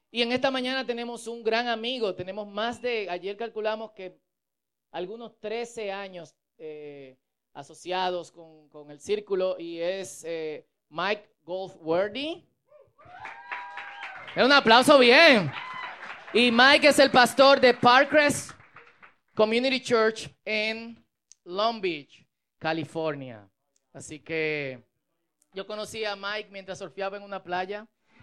Y en esta mañana tenemos un gran amigo, ayer calculamos que algunos 13 años asociados con el círculo y es Mike Goldsworthy. Un aplauso bien. Y Mike es el pastor de Parkcrest Community Church en Long Beach, California. Así que yo conocí a Mike mientras surfeaba en una playa.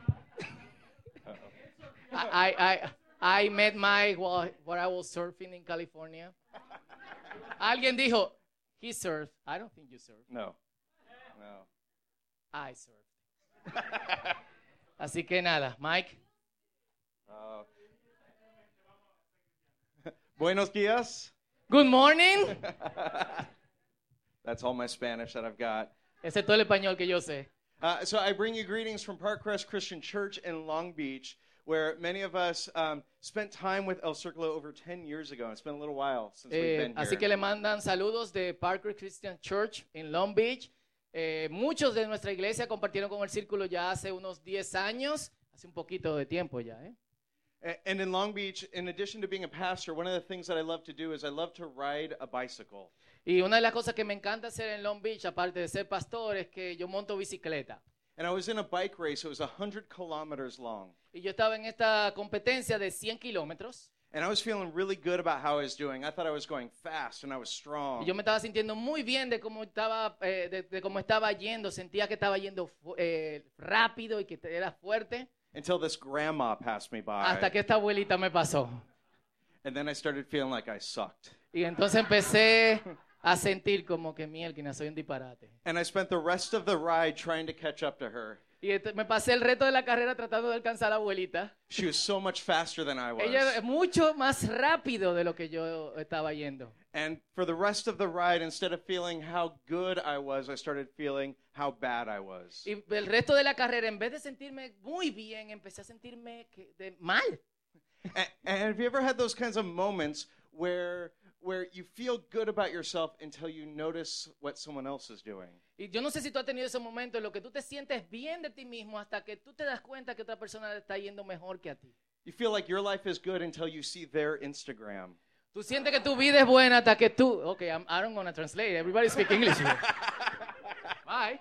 I met Mike while I was surfing in California. Alguien dijo, he surfed. I don't think you surfed. No. I surfed. Así que nada, Mike. Buenos días. Good morning. That's all my Spanish that I've got. Ese es todo el español que yo sé. So I bring you greetings from Parkcrest Christian Church in Long Beach, where many of us spent time with El Círculo over 10 years ago. It's been a little while since we've been here. Así que le mandan saludos de Parkcrest Christian Church en Long Beach. Muchos de nuestra iglesia compartieron con el Círculo ya hace unos 10 años, hace un poquito de tiempo ya. And in Long Beach, in addition to being a pastor, one of the things that I love to do is I love to ride a bicycle. Y una de las cosas que me encanta hacer en Long Beach, aparte de ser pastor, es que yo monto bicicleta. And I was in a bike race. It was 100 kilometers long. Y yo estaba en esta competencia de 100 kilómetros. And I was feeling really good about how I was doing. I thought I was going fast and I was strong. Y yo me estaba sintiendo muy bien de cómo estaba yendo. Sentía que estaba yendo rápido y que era fuerte. Until this grandma passed me by. Hasta que esta abuelita me pasó. And then I started feeling like I sucked. Y entonces empecé a sentir como que mielquina, soy un disparate. And I spent the rest of the ride trying to catch up to her. Y me pasé el resto de la carrera tratando de alcanzar a la abuelita. She was so much faster than I was. Ella es mucho más rápido de lo que yo estaba yendo. And for the rest of the ride, instead of feeling how good I was, I started feeling how bad I was. Y el resto de la carrera, en vez de sentirme muy bien, empecé a sentirme mal. And have you ever had those kinds of moments where you feel good about yourself until you notice what someone else is doing? Y yo no sé si tú has tenido ese momento en lo que tú te sientes bien de ti mismo hasta que tú te das cuenta que otra persona le está yendo mejor que a ti. You feel like your life is good until you see their Instagram. Tú sientes que tu vida es buena hasta que tú... Okay, I don't want to translate. Everybody speak English here. Bye.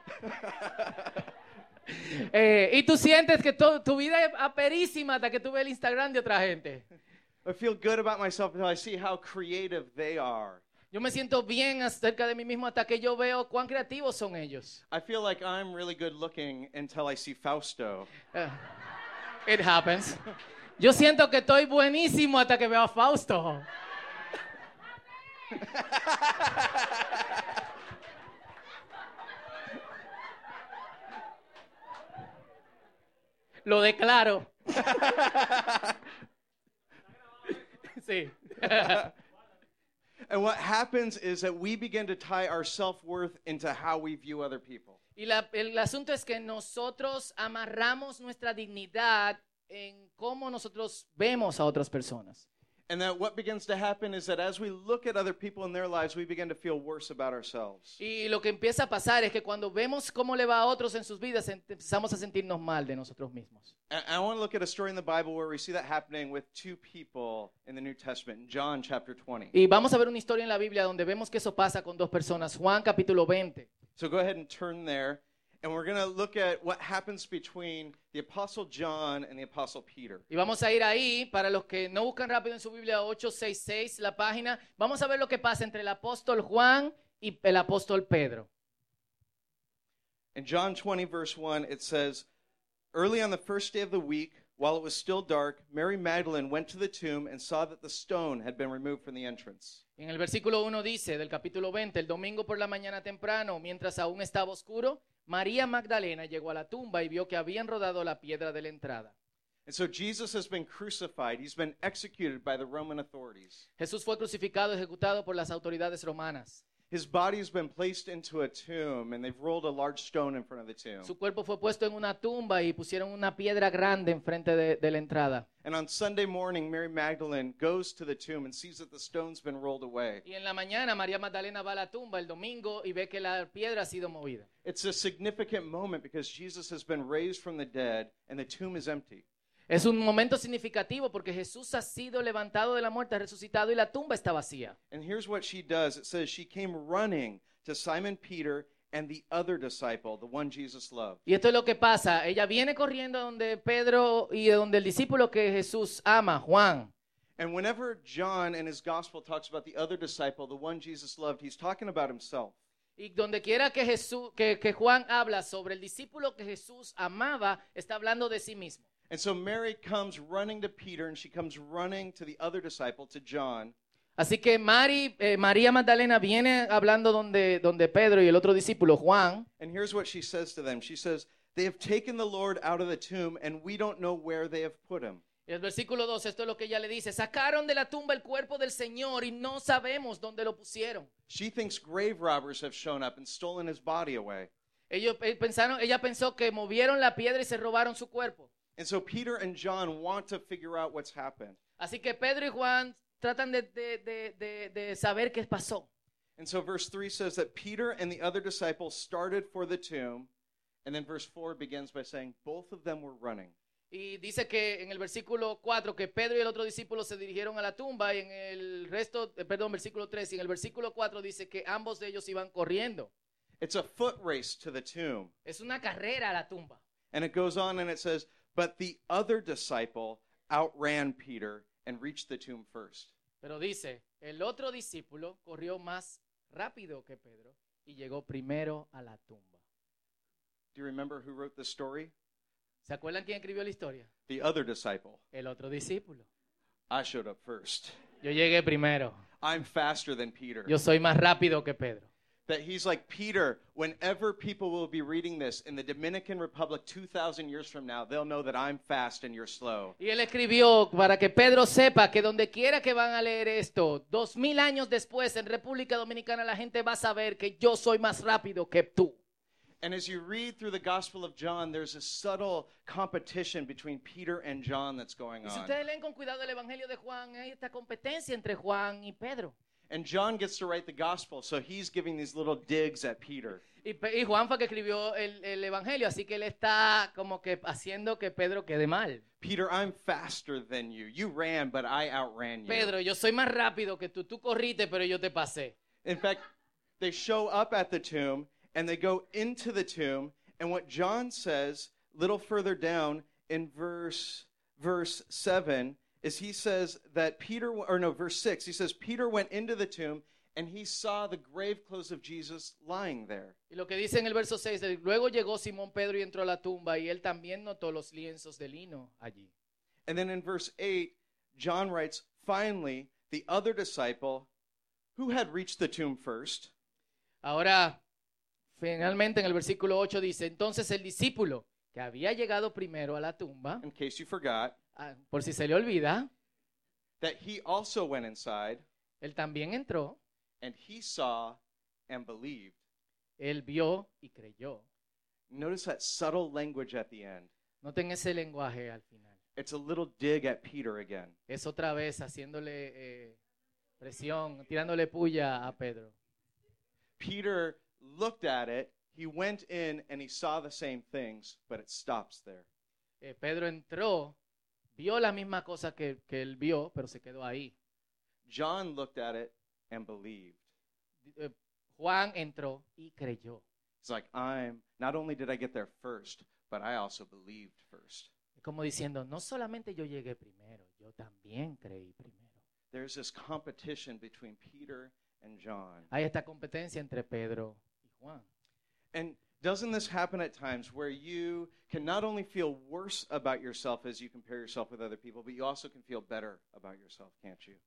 Y tú sientes que tu vida es aperísima hasta que tú ves el Instagram de otra gente. I feel good about myself until I see how creative they are. Yo me siento bien acerca de mí mismo hasta que yo veo cuán creativos son ellos. I feel like I'm really good looking until I see Fausto. It happens. Yo siento que estoy buenísimo hasta que veo a Fausto. Lo declaro. Sí. And what happens is that we begin to tie our self-worth into how we view other people. Y el asunto es que nosotros amarramos nuestra dignidad en cómo nosotros vemos a otras personas. And that what begins to happen is that as we look at other people in their lives, we begin to feel worse about ourselves. Y lo que empieza a pasar es que cuando vemos cómo le va a otros en sus vidas, empezamos a sentirnos mal de nosotros mismos. And I want to look at a story in the Bible where we see that happening with two people in the New Testament, in John chapter 20. Y vamos a ver una historia en la Biblia donde vemos que eso pasa con dos personas. Juan capítulo 20. So go ahead and turn there. And we're going to look at what happens between the Apostle John and the Apostle Peter. Y vamos a ir ahí, para los que no buscan rápido en su Biblia, 866, la página. Vamos a ver lo que pasa entre el apóstol Juan y el apóstol Pedro. In John 20, verse 1, it says, "Early on the first day of the week, while it was still dark, Mary Magdalene went to the tomb and saw that the stone had been removed from the entrance." En el versículo 1 dice, del capítulo 20, el domingo por la mañana temprano, mientras aún estaba oscuro, María Magdalena llegó a la tumba y vio que habían rodado la piedra de la entrada. And so Jesus has been crucified. He's been executed by the Roman authorities. Jesús fue crucificado y ejecutado por las autoridades romanas. His body has been placed into a tomb, and they've rolled a large stone in front of the tomb. Su cuerpo fue puesto en una tumba y pusieron una piedra grande enfrente de la entrada. And on Sunday morning, Mary Magdalene goes to the tomb and sees that the stone's been rolled away. Y en la mañana María Magdalena va a la tumba el domingo y ve que la piedra ha sido movida. It's a significant moment because Jesus has been raised from the dead and the tomb is empty. Es un momento significativo porque Jesús ha sido levantado de la muerte, ha resucitado y la tumba está vacía. And here's what she does. It says she came running to Simon Peter and the other disciple, the one Jesus loved. Y esto es lo que pasa. Ella viene corriendo donde Pedro y donde el discípulo que Jesús ama, Juan. And whenever John in his gospel talks about the other disciple, the one Jesus loved, he's talking about himself. Y donde quiera que, que Juan habla sobre el discípulo que Jesús amaba, está hablando de sí mismo. And so Mary comes running to Peter, and she comes running to the other disciple, to John. Así que María Magdalena viene hablando donde Pedro y el otro discípulo, Juan. And here's what she says to them. She says, "They have taken the Lord out of the tomb, and we don't know where they have put him." Y el versículo 2, esto es lo que ella le dice. Sacaron de la tumba el cuerpo del Señor y no sabemos dónde lo pusieron. She thinks grave robbers have shown up and stolen his body away. Ella pensó que movieron la piedra y se robaron su cuerpo. And so Peter and John want to figure out what's happened. Así que Pedro y Juan tratan de saber qué pasó. And so verse 3 says that Peter and the other disciple started for the tomb. And then verse 4 begins by saying both of them were running. Y dice que en el versículo 4 que Pedro y el otro discípulo se dirigieron a la tumba y en el versículo 3 y en el versículo 4 dice que ambos de ellos iban corriendo. It's a foot race to the tomb. Es una carrera a la tumba. And it goes on and it says, but the other disciple outran Peter and reached the tomb first. Pero dice, el otro discípulo corrió más rápido que Pedro y llegó primero a la tumba. Do you remember who wrote the story? ¿Se acuerdan quién escribió la historia? The other disciple. El otro discípulo. I showed up first. Yo llegué primero. I'm faster than Peter. Yo soy más rápido que Pedro. That he's like, Peter, whenever people will be reading this in the Dominican Republic 2,000 years from now, they'll know that I'm fast and you're slow. Y él escribió para que Pedro sepa que donde quiera que van a leer esto, 2000 años después en República Dominicana la gente va a saber que yo soy más rápido que tú. And as you read through the Gospel of John, there's a subtle competition between Peter and John that's going Y si on. ustedes leen con cuidado el Evangelio de Juan, hay esta competencia entre Juan y Pedro. And John gets to write the Gospel, so he's giving these little digs at Peter. Y Juan fue que escribió el Evangelio, así que él está como que haciendo que Pedro quede mal. Peter, I'm faster than you. You ran, but I outran you. Pedro, yo soy más rápido que tú. Tú corriste, pero yo te pasé. In fact, they show up at the tomb, and they go into the tomb, and what John says, little further down in verse 7, is he says that verse 6, he says, Peter went into the tomb, and he saw the grave clothes of Jesus lying there. Y lo que dice en el verso 6, luego llegó Simón Pedro y entró a la tumba, y él también notó los lienzos de lino allí. And then in verse 8, John writes, finally, the other disciple, who had reached the tomb first. Ahora, finalmente en el versículo 8 dice, entonces el discípulo que había llegado primero a la tumba, In case you forgot, por si se le olvida, that he also went inside, él también entró, and he saw and believed. él vio y creyó. Notice that subtle language at the end. Noten ese lenguaje al final. It's a little dig at Peter again. Es otra vez haciéndole presión, tirándole puya a Pedro. Peter looked at it, he went in, and he saw the same things, but it stops there. Pedro entró, vio la misma cosa que él vio, pero se quedó ahí. John looked at it and believed. Juan entró y creyó. It's like, not only did I get there first, but I also believed first. Como diciendo, no solamente yo llegué primero, yo también creí primero. There's this competition between Peter and John. Hay esta competencia entre Pedro y Juan. And doesn't this happen at times where you can not only feel worse about yourself as you compare yourself with other people, but you also can feel better about yourself, can't you?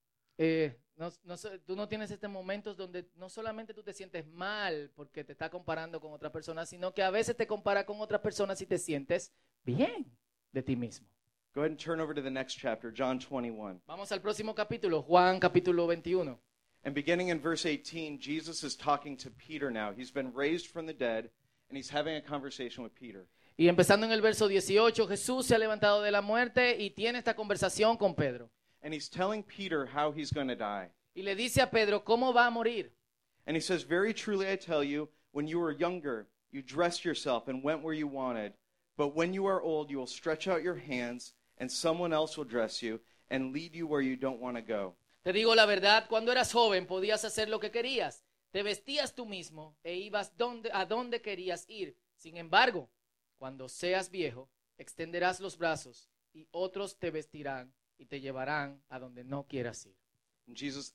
Tú no tienes estos momentos donde no solamente tú te sientes mal porque te estás comparando con otras personas, sino que a veces te comparas con otras personas y te sientes bien de ti mismo. Go ahead and turn over to the next chapter, John 21. Vamos al próximo capítulo, Juan capítulo 21. And beginning in verse 18, Jesus is talking to Peter now. He's been raised from the dead, and he's having a conversation with Peter. Y empezando en el verso 18, Jesús se ha levantado de la muerte y tiene esta conversación con Pedro. And he's telling Peter how he's going to die. Y le dice a Pedro cómo va a morir. And he says, very truly I tell you, when you were younger, you dressed yourself and went where you wanted. But when you are old, you will stretch out your hands, and someone else will dress you and lead you where you don't want to go. Te digo la verdad, cuando eras joven podías hacer lo que querías. Te vestías tú mismo e ibas a donde querías ir. Sin embargo, cuando seas viejo, extenderás los brazos y otros te vestirán y te llevarán a donde no quieras ir. And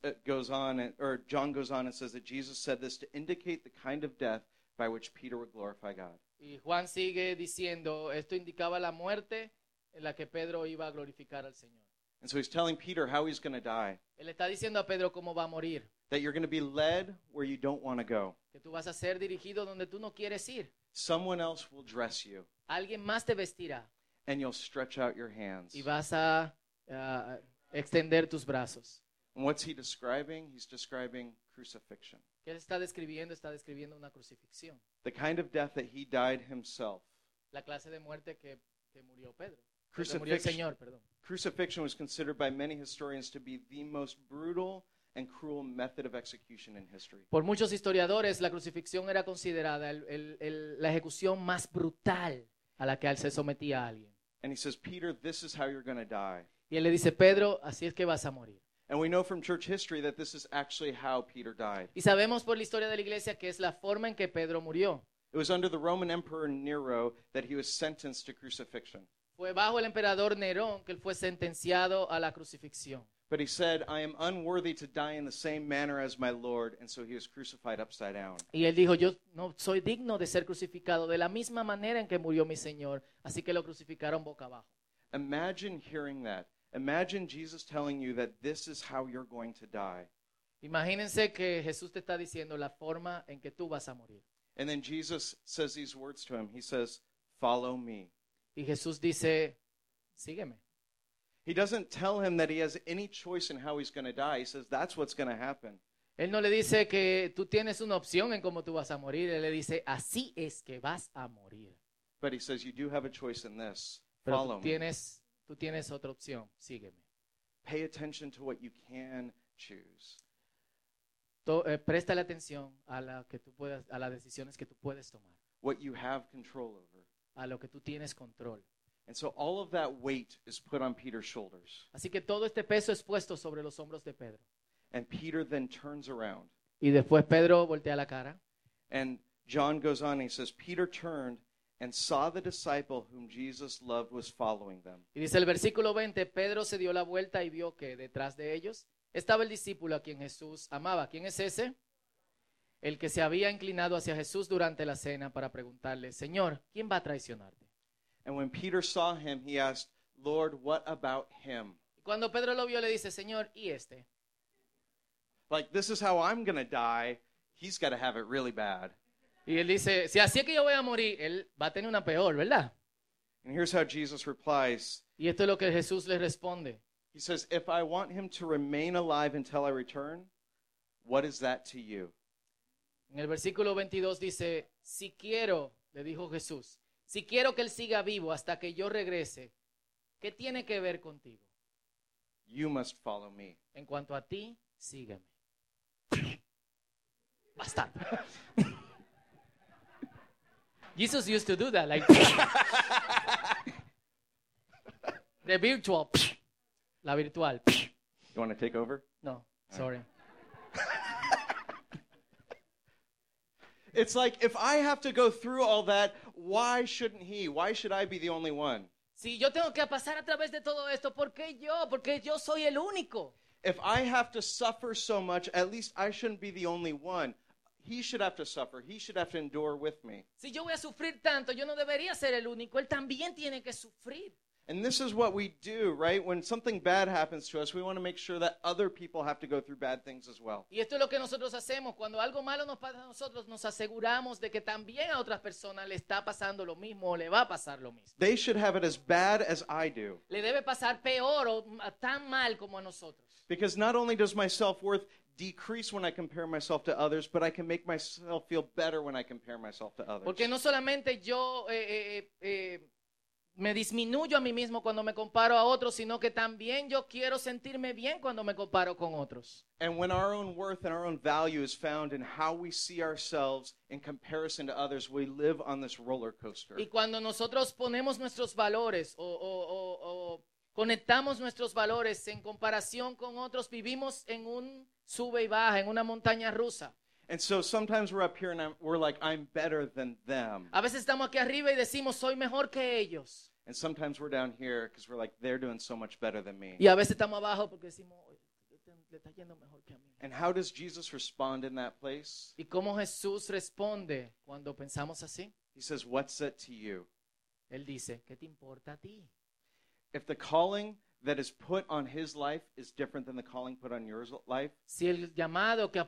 John goes on and says that Jesus said this to indicate the kind of death by which Peter would glorify God. Y Juan sigue diciendo, esto indicaba la muerte en la que Pedro iba a glorificar al Señor. And so he's telling Peter how he's going to die, Él está diciendo a Pedro cómo va a morir, that you're going to be led where you don't want to go. que tú vas a ser dirigido donde tú no quieres ir. Someone else will dress you, Alguien más te vestirá and you'll stretch out your hands. y vas a extender tus brazos. And what's he describing? He's describing crucifixion. ¿Qué él está describiendo? Está describiendo una crucifixión. The kind of death that he died himself. La clase de muerte que murió Pedro. Que murió el Crucifixion, Señor, perdón. crucifixion was considered by many historians to be the most brutal and cruel method of execution in history. Por muchos historiadores, la crucifixión era considerada la ejecución más brutal a la que se sometía a alguien. And he says, Peter, this is how you're going to die. Y él le dice, Pedro, así es que vas a morir. And we know from church history that this is actually how Peter died. Y sabemos por la historia de la iglesia que es la forma en que Pedro murió. It was under the Roman Emperor Nero that he was sentenced to crucifixion. Fue bajo el emperador Nerón que él fue sentenciado a la crucifixión. But he said, I am unworthy to die in the same manner as my Lord, and so he was crucified upside down. Y él dijo, yo no soy digno de ser crucificado de la misma manera en que murió mi Señor. Así que lo crucificaron boca abajo. Imagine hearing that. Imagine Jesus telling you that this is how you're going to die. Imagínense que Jesús te está diciendo la forma en que tú vas a morir. And then Jesus says these words to him. He says, follow me. Y Jesús dice, sígueme. He doesn't tell him that he has any choice in how he's going to die. He says, that's what's going to happen. Él no le dice que tú tienes una opción en cómo tú vas a morir. Él le dice, así es que vas a morir. But he says, you do have a choice in this. Pero Follow me. tú tienes otra opción, sígueme. Pay attention to what you can choose. Préstale atención a las decisiones que tú puedes tomar, What you have control over. a lo que tú tienes control. And so all of that weight is put on Peter's shoulders. Así que todo este peso es puesto sobre los hombros de Pedro. And Peter then turns around. Y después Pedro voltea la cara. And John goes on and he says, Peter turned and saw the disciple whom Jesus loved was following them. Y dice el versículo 20, Pedro se dio la vuelta y vio que detrás de ellos estaba el discípulo a quien Jesús amaba. ¿Quién es ese? El que se había inclinado hacia Jesús durante la cena para preguntarle, Señor, ¿quién va a traicionarte? And when Peter saw him, he asked, Lord, what about him? Y cuando Pedro lo vio le dice, Señor, ¿y este? Like, this is how I'm going to die. He's got to have it really bad. Y él dice, si así es que yo voy a morir, él va a tener una peor, ¿verdad? And here's how Jesus replies. Y esto es lo que Jesús le responde. He says, if I want him to remain alive until I return, what is that to you? En el versículo 22 dice, si quiero, le dijo Jesús, si quiero que él siga vivo hasta que yo regrese, ¿qué tiene que ver contigo? You must follow me. En cuanto a ti, sígueme. Bastante. Jesus used to do that, like the virtual, la virtual. You want to take over? No, sorry. It's like, if I have to go through all that, why shouldn't he? Why should I be the only one? Si yo tengo que pasar a través de todo esto, ¿por qué yo? Porque yo soy el único. If I have to suffer so much, at least I shouldn't be the only one. He should have to suffer. He should have to endure with me. Si yo voy a sufrir tanto, yo no debería ser el único. Él también tiene que sufrir. And this is what we do, right? When something bad happens to us, we want to make sure that other people have to go through bad things as well. Y esto es lo que nosotros hacemos. Cuando algo malo nos pasa a nosotros, nos aseguramos de que también a otras personas le está pasando lo mismo o le va a pasar lo mismo. They should have it as bad as I do. Le debe pasar peor o tan mal como a nosotros. Because not only does my self-worth decrease when I compare myself to others, but I can make myself feel better when I compare myself to others. Porque no solamente yo me disminuyo a mí mismo cuando me comparo a otros, sino que también yo quiero sentirme bien cuando me comparo con otros. And when our own worth and our own value is found in how we see ourselves in comparison to others, we live on this roller coaster. Y cuando nosotros ponemos nuestros valores o conectamos nuestros valores en comparación con otros, vivimos en un sube y baja, en una montaña rusa. And so sometimes we're up here and we're like, I'm better than them. A veces estamos aquí arriba y decimos, soy mejor que ellos. And sometimes we're down here because we're like, they're doing so much better than me. Y a veces estamos abajo porque decimos, "Oye, le está yendo mejor que a mí." And how does Jesus respond in that place? ¿Y cómo Jesús responde cuando pensamos así? He says, what's it to you? Él dice, ¿qué te importa a ti? If the calling that is put on his life is different than the calling put on your life, Si el llamado que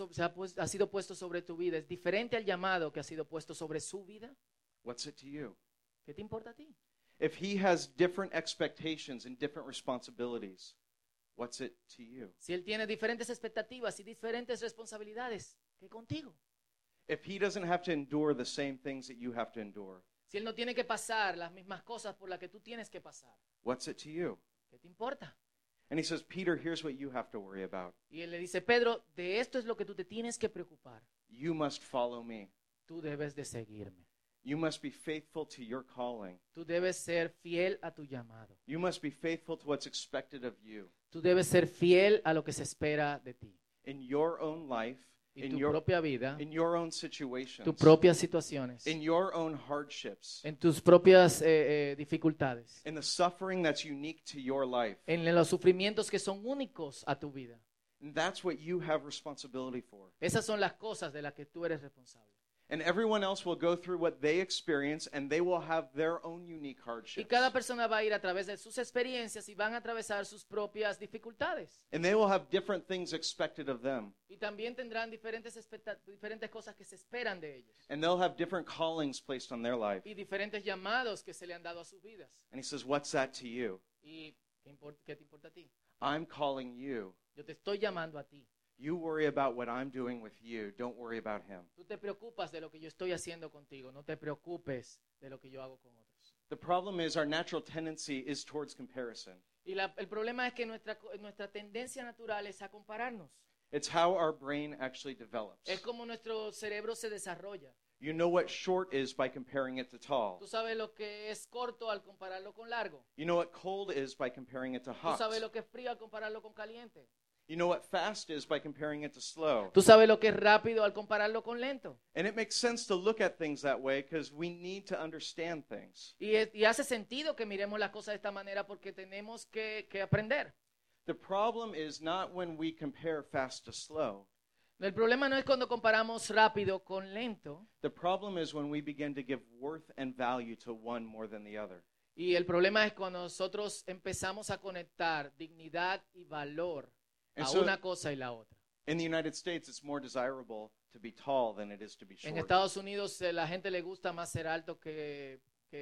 ha sido puesto sobre tu vida es diferente al llamado que ha sido puesto sobre su vida, what's it to you? ¿qué te importa a ti? If he has different expectations and different responsibilities, what's it to you? Si él tiene diferentes expectativas y diferentes responsabilidades, ¿qué contigo? If he doesn't have to endure the same things that you have to endure, Si él no tiene que pasar las mismas cosas por las que tú tienes que pasar, what's it to you? ¿qué te importa? And he says, Peter, here's what you have to worry about. Y él le dice, Pedro, de esto es lo que tú te tienes que preocupar. You must follow me. Tú debes de seguirme. You must be faithful to your calling. Tú debes ser fiel a tu llamado. You must be faithful to what's expected of you Tú debes ser fiel a lo que se espera de ti. in your own life, Y tu propia vida, in your own situations, tus propias situaciones, in your own hardships, en tus propias dificultades, in the suffering that's unique to your life. en los sufrimientos que son únicos a tu vida. And that's what you have responsibility for. Esas son las cosas de las que tú eres responsable. And everyone else will go through what they experience, and they will have their own unique Y hardships. cada persona va a ir a través de sus experiencias y van a atravesar sus propias dificultades. And they will have different things expected of them. Y también tendrán diferentes cosas que se esperan de ellos. And they'll have different callings placed on their life. Y diferentes llamados que se le han dado a sus vidas. And he says, what's that to you? ¿Y qué te importa a ti? I'm calling you. Yo te estoy llamando a ti. You worry about what I'm doing with you. Don't worry about him. Tú te preocupas de lo que yo estoy haciendo contigo. No te preocupes de lo que yo hago con otros. The problem is our natural tendency is towards comparison. Y el problema es que nuestra tendencia natural es a compararnos. It's how our brain actually develops. Es como nuestro cerebro se desarrolla. You know what short is by comparing it to tall. Tú sabes lo que es corto al compararlo con largo. You know what cold is by comparing it to Tú hot. sabes lo que es frío al compararlo con caliente. You know what fast is by comparing it to slow. Tú sabes lo que es rápido al compararlo con lento. And it makes sense to look at things that way because we need to understand things. Y hace sentido que miremos las cosas de esta manera porque tenemos que aprender. The problem is not when we compare fast to slow. El problema no es cuando comparamos rápido con lento. The problem is when we begin to give worth and value to one more than the other. Y el problema es cuando nosotros empezamos a conectar dignidad y valor a And so- una cosa y la otra. In the United States, it's more desirable to be tall than it is to be En short. Estados Unidos la gente le gusta más ser alto que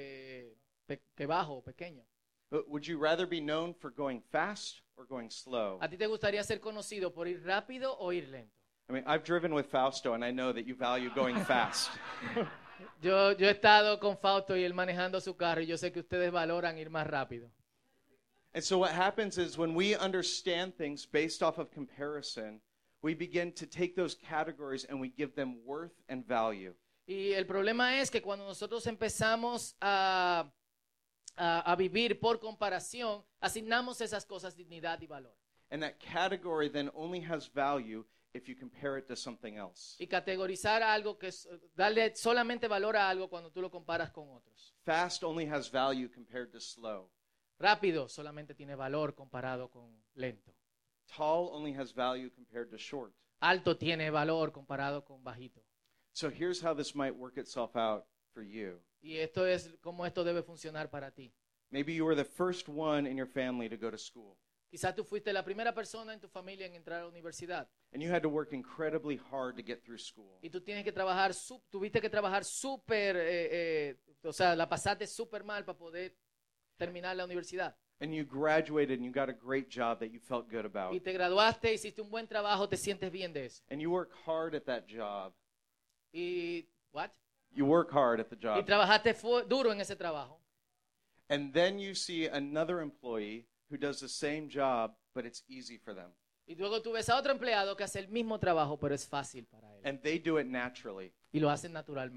bajo o pequeño. But would you rather be known for going fast or going slow? ¿A ti te gustaría ser conocido por ir rápido o ir lento? I mean, I've driven with Fausto, and I know that you value going fast. Yo he estado con Fausto y él manejando su carro y yo sé que ustedes valoran ir más rápido. And so what happens is when we understand things based off of comparison, we begin to take those categories and we give them worth and value. Y el problema es que cuando nosotros empezamos a vivir por comparación, asignamos esas cosas dignidad y valor. And that category then only has value if you compare it to something else. Y categorizar algo darle solamente valor a algo cuando tú lo comparas con otros. Fast only has value compared to slow. Rápido solamente tiene valor comparado con lento. Tall only has value compared to short. Alto tiene valor comparado con bajito. So here's how this might work itself out for you. Y esto es cómo esto debe funcionar para ti. Maybe you were the first one in your family to go to school, Quizás tú fuiste la primera persona en tu familia en entrar a la universidad and you had to work incredibly hard to get through school. y tú tuviste que trabajar súper, o sea, la pasaste súper mal para poder terminar la universidad. And you graduated and you got a great job that you felt good about. Y te graduaste, hiciste un buen trabajo, te sientes bien de eso. And you work hard at that job. What? You work hard at the Y job. trabajaste duro en ese trabajo. And then you see another employee who does the same job, but it's easy for them. Y luego tú ves a otro empleado que hace el mismo trabajo, pero es fácil para él. And they do it naturally. Y lo hacen naturalmente.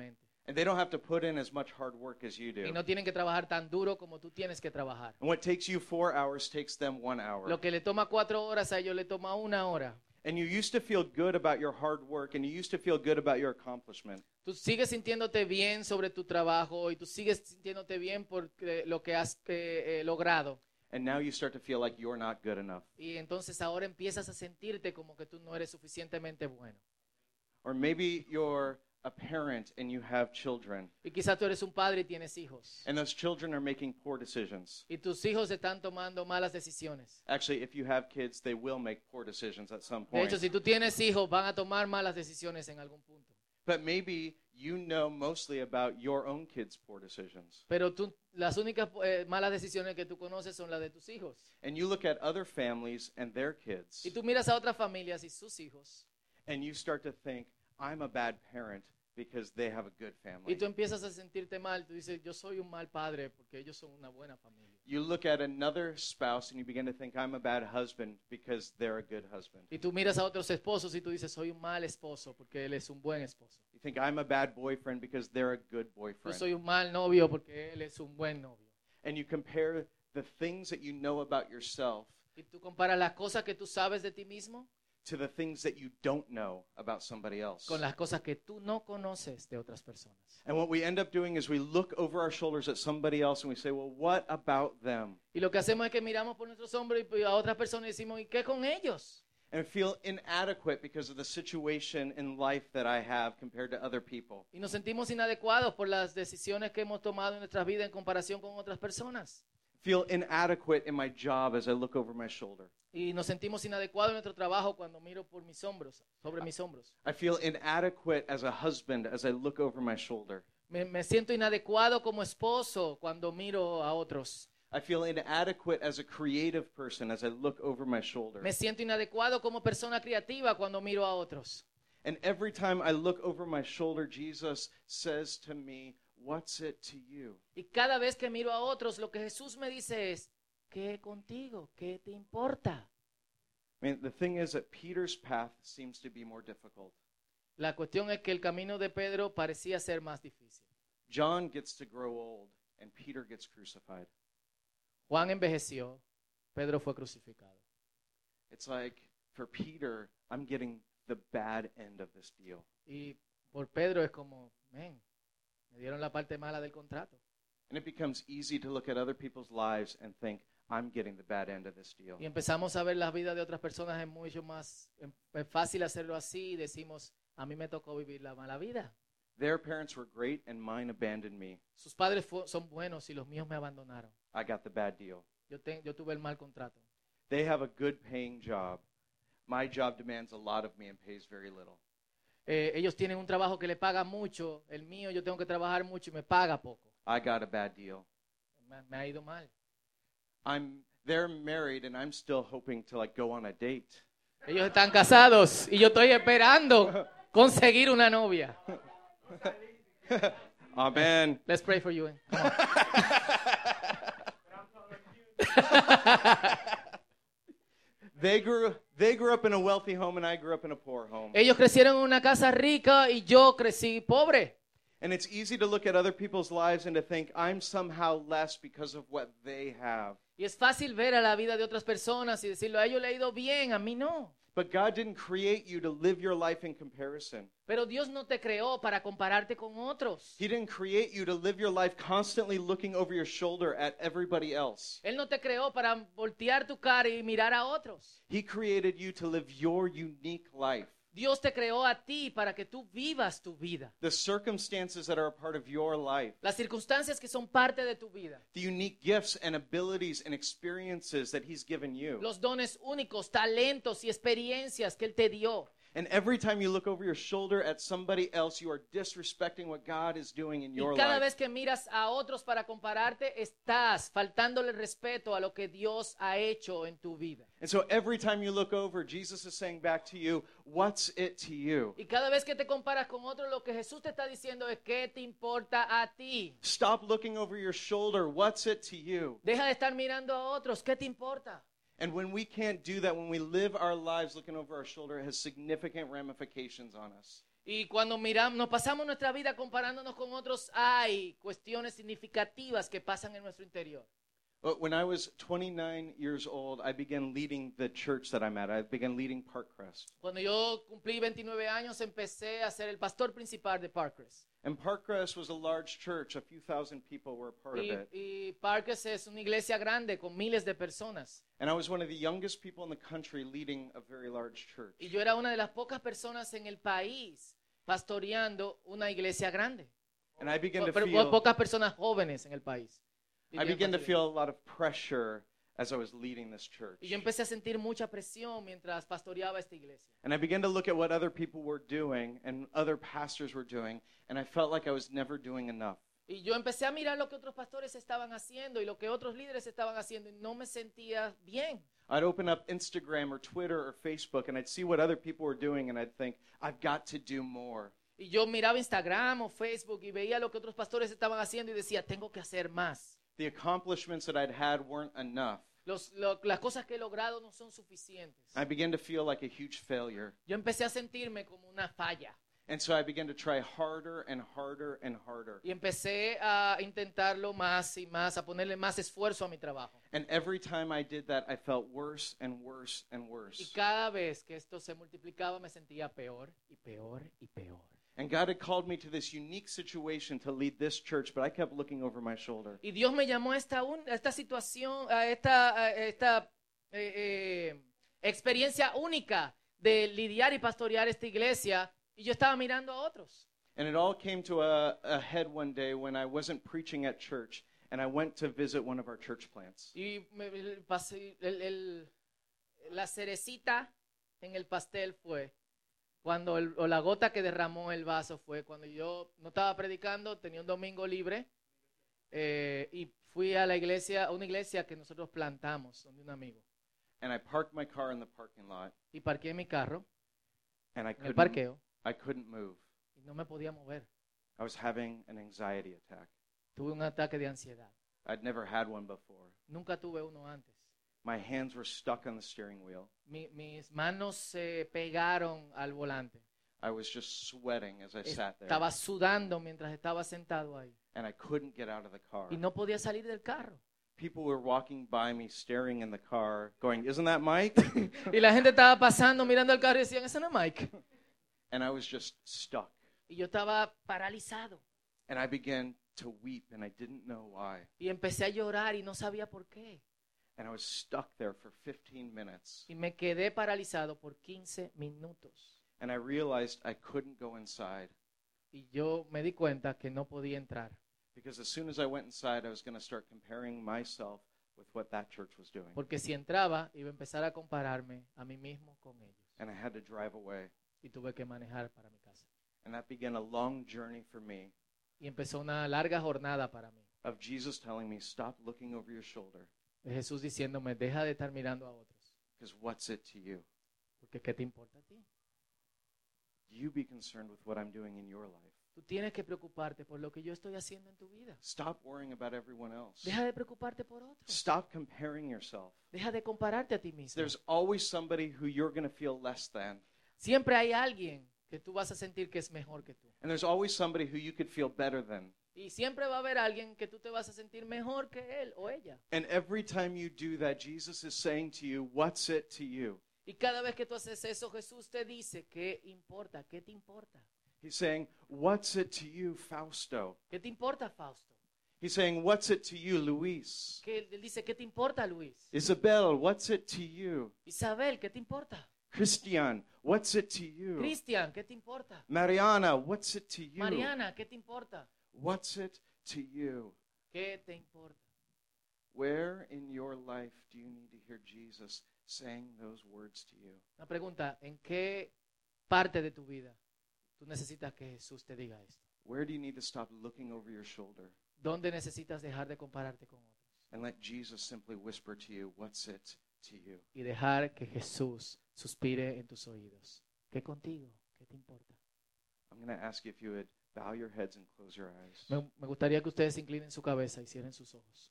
And they don't have to put in as much hard work as you Y do. no tienen que trabajar tan duro como tú tienes que trabajar. And what takes you 4 hours takes them 1 hour. Lo que le toma 4 horas a ellos le toma 1 hora. And you used to feel good about your hard work, and you used to feel good about your accomplishment. Tú sigues sintiéndote bien sobre tu trabajo y tú sigues sintiéndote bien por lo que has logrado. And now you start to feel like you're not good enough. Y entonces ahora empiezas a sentirte como que tú no eres suficientemente bueno. Or maybe you're a parent and you have children, Y quizás tú eres un padre y tienes hijos. and those children are making poor decisions. Y tus hijos están tomando malas decisiones. Actually, if you have kids, they will make poor decisions at some De point. hecho, si tú tienes hijos, van a tomar malas decisiones en algún punto. But maybe you know mostly about your own kids' poor decisions. Pero las únicas malas decisiones que tú conoces son las de tus hijos. And you look at other families and their kids, Y tú miras a otras familias y sus hijos. and you start to think, I'm a bad parent because they have a good Y family. tú empiezas a sentirte mal. Tú dices, yo soy un mal padre porque ellos son una buena familia. You look at another spouse and you begin to think, I'm a bad husband because they're a good husband. Y tú miras a otros esposos y tú dices, soy un mal esposo porque él es un buen esposo. You think, I'm a bad boyfriend because they're a good Yo boyfriend. soy un mal novio porque él es un buen novio. And you compare the things that you know about yourself Y tú comparas las cosas que tú sabes de ti mismo to the things that you don't know about somebody else. con las cosas que tú no conoces de otras personas. And what we end up doing is we look over our shoulders at somebody else and we say, well, what about them? Y lo que hacemos es que miramos por nuestros hombros y a otras personas y decimos, ¿y qué con ellos? And feel inadequate because of the situation in life that I have compared to other people. Y nos sentimos inadecuados por las decisiones que hemos tomado en nuestras vidas en comparación con otras personas. Feel inadequate in my job as I look over my shoulder. Y nos sentimos inadecuados en nuestro trabajo cuando miro por mis hombros, sobre mis hombros. I feel inadequate as a husband as I look over my shoulder. Me siento inadecuado como esposo cuando miro a otros. I feel inadequate as a creative person as I look over my shoulder. Me siento inadecuado como persona creativa cuando miro a otros. And every time I look over my shoulder, Jesus says to me, what's it to you? Y cada vez que miro a otros, lo que Jesús me dice es, ¿qué contigo? ¿Qué te importa? I mean, the thing is that Peter's path seems to be more difficult. La cuestión es que el camino de Pedro parecía ser más difícil. John gets to grow old, and Peter gets crucified. Juan envejeció, Pedro fue crucificado. It's like, for Peter, I'm getting the bad end of this deal. Y por Pedro es como, me dieron la parte mala del contrato. And it becomes easy to look at other people's lives and think, I'm getting the bad end of this deal. Y empezamos a ver las vidas de otras personas, es mucho más es fácil hacerlo así y decimos, a mí me tocó vivir la mala vida. Their parents were great, and mine abandoned me. Sus padres son buenos y los míos me abandonaron. I got the bad deal. Yo tuve el mal contrato. They have a good paying job. My job demands a lot of me and pays very little. Ellos tienen un trabajo que le paga mucho, el mío yo tengo que trabajar mucho y me paga poco. I got a bad deal. Me ha ido mal. They're married, and I'm still hoping to go on a date. Ellos están casados y yo estoy esperando conseguir una novia. Amen. Let's pray for you. Come on. They grew up in a wealthy home, and I grew up in a poor home. Ellos crecieron en una casa rica y yo crecí pobre. And it's easy to look at other people's lives and to think, I'm somehow less because of what they have. Y es fácil ver a la vida de otras personas y decirlo, a ellos le ha ido bien, a mí no. But God didn't create you to live your life in comparison. Pero Dios no te creó para compararte con otros. He didn't create you to live your life constantly looking over your shoulder at everybody else. Él no te creó para voltear tu cara y mirar a otros. He created you to live your unique life. Dios te creó a ti para que tú vivas tu vida. The circumstances that are a part of your life, Las circunstancias que son parte de tu vida. the unique gifts and abilities and experiences that He's given you. Los dones únicos, talentos y experiencias que Él te dio. And every time you look over your shoulder at somebody else, you are disrespecting what God is doing in your Y cada life. vez que miras a otros para compararte, estás faltándole respeto a lo que Dios ha hecho en tu vida. And so every time you look over, Jesus is saying back to you, what's it to you? Y cada vez que te comparas con otros, lo que Jesús te está diciendo es ¿qué te importa a ti? Stop looking over your shoulder. What's it to you? Deja de estar mirando a otros, ¿qué te importa? And when we can't do that, when we live our lives looking over our shoulder, it has significant ramifications on us. Y cuando miramos, nos pasamos nuestra vida comparándonos con otros, hay cuestiones significativas que pasan en nuestro interior. But when I was 29 years old, I began leading the church that I'm at. I began leading Parkcrest. Cuando yo cumplí 29 años, empecé a ser el pastor principal de Parkcrest. And Parkcrest was a large church. A few thousand people were a part of it. Y Parkcrest es una iglesia grande con miles de personas. And I was one of the youngest people in the country leading a very large church. Y yo era una de las pocas personas en el país pastoreando una iglesia grande. And I began to Pero feel pocas personas jóvenes en el país. I began to feel a lot of pressure as I was leading this church. Y yo empecé a sentir mucha presión mientras pastoreaba esta iglesia. And I began to look at what other people were doing and other pastors were doing, and I felt like I was never doing enough. Y yo empecé a mirar lo que otros pastores estaban haciendo y lo que otros líderes estaban haciendo y no me sentía bien. I'd open up Instagram or Twitter or Facebook and I'd see what other people were doing and I'd think, I've got to do more. Y yo miraba Instagram o Facebook y veía lo que otros pastores estaban haciendo y decía, tengo que hacer más. The accomplishments that I'd had weren't enough. Las cosas que he logrado no son suficientes. I began to feel like a huge failure. Yo empecé a sentirme como una falla. And so I began to try harder and harder and harder. Y empecé a intentarlo más y más, a ponerle más esfuerzo a mi trabajo. And every time I did that, I felt worse and worse and Y worse. cada vez que esto se multiplicaba me sentía peor y peor y peor. And God had called me to this unique situation to lead this church, but I kept looking over my shoulder. Y Dios me llamó a esta situación, a esta experiencia única de lidiar y pastorear esta iglesia. Y yo estaba mirando a otros. And it all came to a head one day when I wasn't preaching at church, and I went to visit one of our church plants. Y la cerecita en el pastel fue cuando o la gota que derramó el vaso fue cuando yo no estaba predicando, tenía un domingo libre y fui a la iglesia, a una iglesia que nosotros plantamos, donde un amigo. And I parked my car in the parking lot, Y parqué mi carro and en el parqueo I couldn't move. y no me podía mover. I was having an anxiety attack. Tuve un ataque de ansiedad. I'd never had one before. Nunca tuve uno antes. My hands were stuck on the steering wheel. Mis manos se pegaron al volante. I was just sweating as I sat there, Estaba sudando mientras estaba sentado ahí. and I couldn't get out of the car. Y no podía salir del carro. People were walking by me, staring in the car, going, "Isn't that Mike?" Y la gente estaba pasando, mirando el carro y decían, ese no es Mike. And I was just stuck. Y yo estaba paralizado. And I began to weep, and I didn't know why. Y empecé a llorar y no sabía por qué. And I was stuck there for 15 minutes. Y me quedé paralizado por 15 minutos. And I realized I couldn't go inside, Y yo me di cuenta que no podía entrar. because as soon as I went inside, I was going to start comparing myself with what that church was doing. Porque si entraba, iba a empezar a compararme a mí mismo con ellos. And I had to drive away. Y tuve que manejar para mi casa. And that began a long journey for me Y empezó una larga jornada para mí. of Jesus telling me, "Stop looking over your shoulder, De Jesús diciéndome, deja de estar mirando a otros. because what's it to you? Porque ¿qué te importa a ti? You be concerned with what I'm doing in your life. Tú tienes que preocuparte por lo que yo estoy haciendo en tu vida. Stop worrying about everyone else. Deja de preocuparte por otros. Stop comparing yourself. Deja de compararte a ti mismo. There's always somebody who you're going to feel less than. Siempre hay alguien que tú vas a sentir que es mejor que tú. And there's always somebody who you could feel better than. Y siempre va a haber alguien que tú te vas a sentir mejor que él o ella. And every time you do that, Jesus is saying to you, "What's it to you?" Y cada vez que tú haces eso, Jesús te dice, ¿qué importa? ¿Qué te importa? He's saying, "What's it to you, Fausto?" ¿Qué te importa, Fausto? He's saying, "What's it to you, Luis?" Él dice, ¿qué te importa, Luis? Isabel, what's it to you? Isabel, ¿qué te importa? Christian, what's it to you? Cristian, ¿qué te importa? Mariana, what's it to you? Mariana, ¿qué te importa? What's it to you? ¿Qué te importa? Where in your life do you need to hear Jesus saying those words to you? Una pregunta, ¿en qué parte de tu vida tú necesitas que Jesús te diga esto? Where do you need to stop looking over your shoulder ¿Dónde necesitas dejar de compararte con otros? and let Jesus simply whisper to you, "What's it to you?" Y dejar que Jesús suspire en tus oídos. ¿Qué contigo? ¿Qué te importa? I'm going to ask you if you would bow your heads and close your eyes. Me gustaría que ustedes inclinen su cabeza y cierren sus ojos.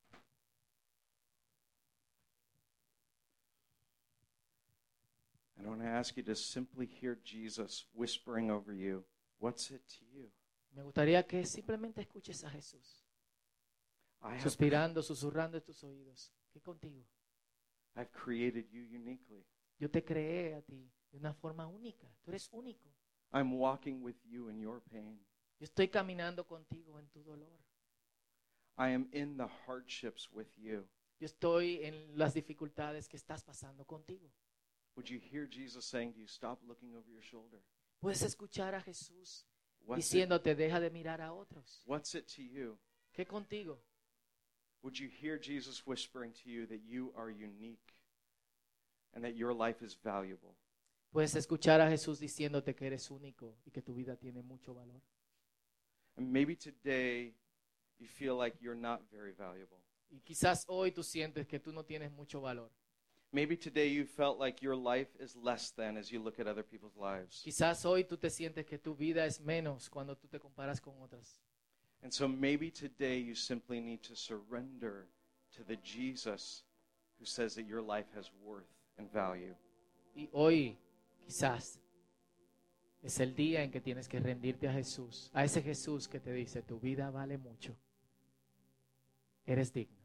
I want to ask you to simply hear Jesus whispering over you, what's it to you? Me gustaría que simplemente escuches a Jesús, I have, suspirando, susurrando en tus oídos. ¿Qué contigo? I've created you uniquely. Yo te creé a ti de una forma única. Tú eres único. I'm walking with you in your pain. Yo estoy caminando contigo en tu dolor. I am in the hardships with you. Yo estoy en las dificultades que estás pasando contigo. Would you hear Jesus saying to you, stop looking over your shoulder? Puedes escuchar a Jesús What's it, diciéndote, deja de mirar a otros. what's it to you? ¿Qué contigo? Would you hear Jesus whispering to you that you are unique and that your life is valuable? Puedes escuchar a Jesús diciéndote que eres único y que tu vida tiene mucho valor. And maybe today you feel like you're not very valuable. Y quizás hoy tú sientes que tú no tienes mucho valor. Maybe today you felt like your life is less than as you look at other people's lives. Quizás hoy tú te sientes que tu vida es menos cuando tú te comparas con otras. And so maybe today you simply need to surrender to the Jesus who says that your life has worth and value. Y hoy quizás es el día en que tienes que rendirte a Jesús, a ese Jesús que te dice, tu vida vale mucho. Eres digno.